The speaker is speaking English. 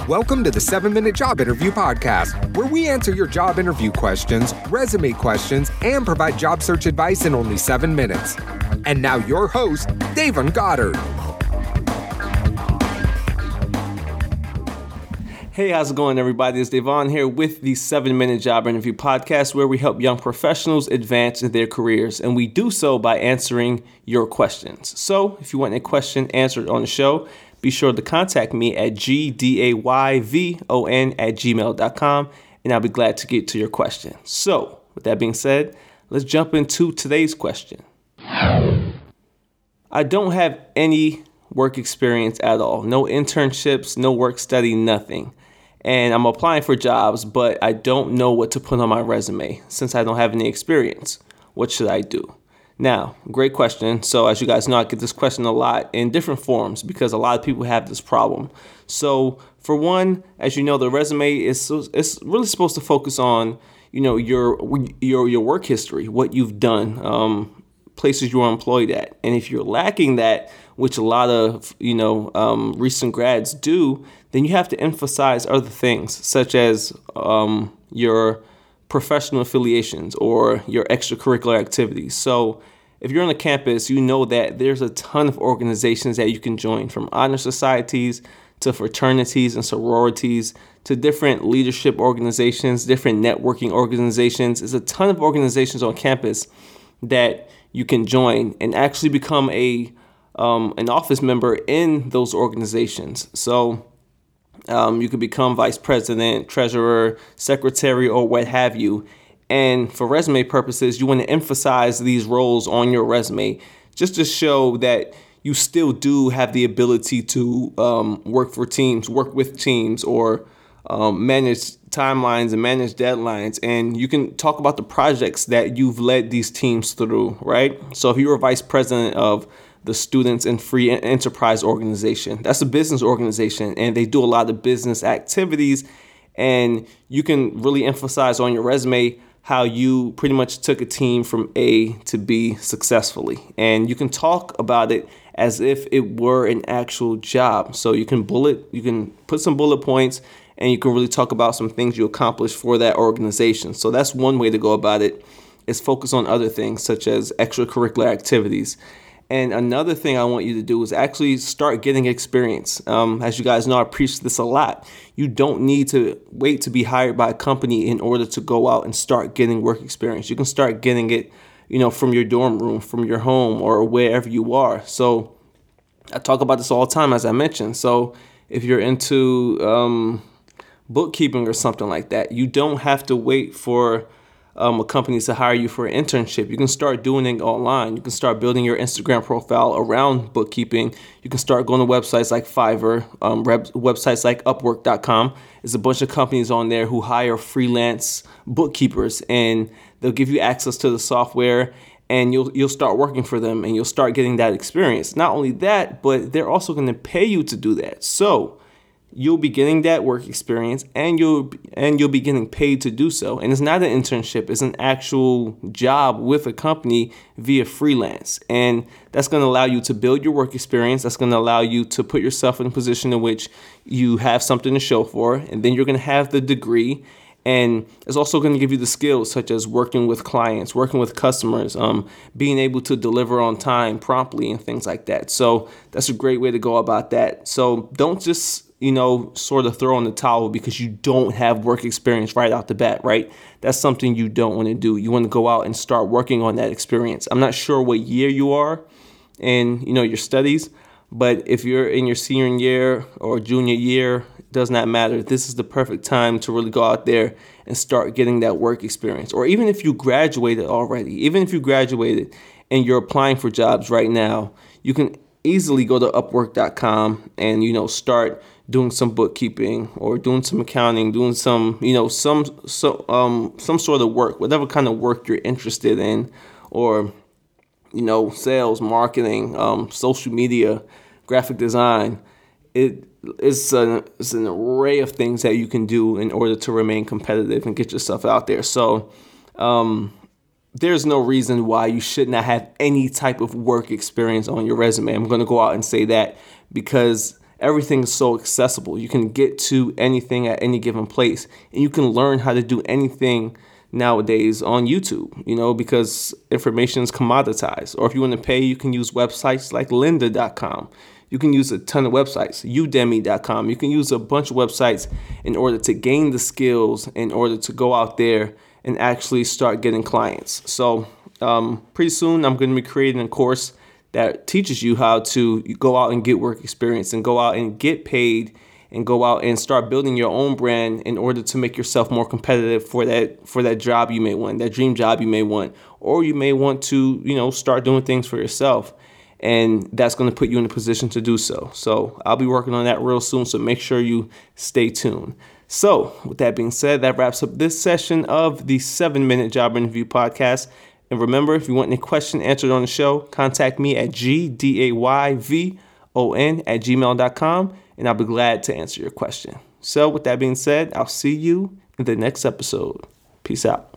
Welcome to the 7-Minute Job Interview Podcast, where we answer your job interview questions, resume questions, and provide job search advice in only 7 minutes. And now your host, Davon Goddard. Hey, how's it going, everybody? It's Davon here with the 7-Minute Job Interview Podcast, where we help young professionals advance in their careers, and we do so by answering your questions. So, if you want a question answered on the show, be sure to contact me at gdayvon@gmail.com, and I'll be glad to get to your question. So, with that being said, let's jump into today's question. I don't have any work experience at all. No internships, no work study, nothing. And I'm applying for jobs, but I don't know what to put on my resume since I don't have any experience. What should I do? Now, great question. So as you guys know, I get this question a lot in different forms because a lot of people have this problem. So for one, as you know, the resume is really supposed to focus on, your work history, what you've done, places you are employed at. And if you're lacking that, which a lot of, recent grads do, then you have to emphasize other things such as your professional affiliations or your extracurricular activities. So if you're on a campus, you know that there's a ton of organizations that you can join, from honor societies to fraternities and sororities to different leadership organizations, different networking organizations. There's a ton of organizations on campus that you can join and actually become an office member in those organizations. So you could become vice president, treasurer, secretary, or what have you. And for resume purposes, you want to emphasize these roles on your resume just to show that you still do have the ability to work with teams, or manage timelines and manage deadlines. And you can talk about the projects that you've led these teams through, right? So if you were vice president of the Students and Free Enterprise Organization, that's a business organization, and they do a lot of business activities. And you can really emphasize on your resume how you pretty much took a team from A to B successfully. And you can talk about it as if it were an actual job. So you can put some bullet points, and you can really talk about some things you accomplished for that organization. So that's one way to go about it, is focus on other things such as extracurricular activities. And another thing I want you to do is actually start getting experience. As you guys know, I preach this a lot. You don't need to wait to be hired by a company in order to go out and start getting work experience. You can start getting it, from your dorm room, from your home, or wherever you are. So I talk about this all the time, as I mentioned. So if you're into bookkeeping or something like that, you don't have to wait for a company to hire you for an internship. You can start doing it online. You can start building your Instagram profile around bookkeeping. You can start going to websites like Fiverr, websites like Upwork.com. There's a bunch of companies on there who hire freelance bookkeepers, and they'll give you access to the software, and you'll start working for them, and you'll start getting that experience. Not only that, but they're also going to pay you to do that. So you'll be getting that work experience, and you'll be getting paid to do so. And it's not an internship; it's an actual job with a company via freelance. And that's going to allow you to build your work experience. That's going to allow you to put yourself in a position in which you have something to show for, and then you're going to have the degree. And it's also going to give you the skills such as working with clients, working with customers, being able to deliver on time promptly, and things like that. So that's a great way to go about that. So don't just sort of throw in the towel because you don't have work experience right out the bat, right? That's something you don't want to do. You want to go out and start working on that experience. I'm not sure what year you are in, your studies, but if you're in your senior year or junior year, it does not matter. This is the perfect time to really go out there and start getting that work experience. Or even if you graduated already, and you're applying for jobs right now, you can easily go to Upwork.com and, start doing some bookkeeping or doing some accounting, doing some, some sort of work, whatever kind of work you're interested in, or, sales, marketing, social media, graphic design. It's an array of things that you can do in order to remain competitive and get yourself out there. So there's no reason why you should not have any type of work experience on your resume. I'm going to go out and say that because everything is so accessible. You can get to anything at any given place, and you can learn how to do anything nowadays on YouTube, because information is commoditized. Or if you want to pay, you can use websites like lynda.com. You can use a ton of websites, udemy.com. You can use a bunch of websites in order to gain the skills, in order to go out there and actually start getting clients. So pretty soon I'm going to be creating a course that teaches you how to go out and get work experience and go out and get paid and go out and start building your own brand in order to make yourself more competitive for that job you may want, that dream job you may want, or you may want to, start doing things for yourself. And that's going to put you in a position to do so. So I'll be working on that real soon. So make sure you stay tuned. So with that being said, that wraps up this session of the 7-Minute Job Interview Podcast. And remember, if you want any question answered on the show, contact me at gdayvon@gmail.com, and I'll be glad to answer your question. So with that being said, I'll see you in the next episode. Peace out.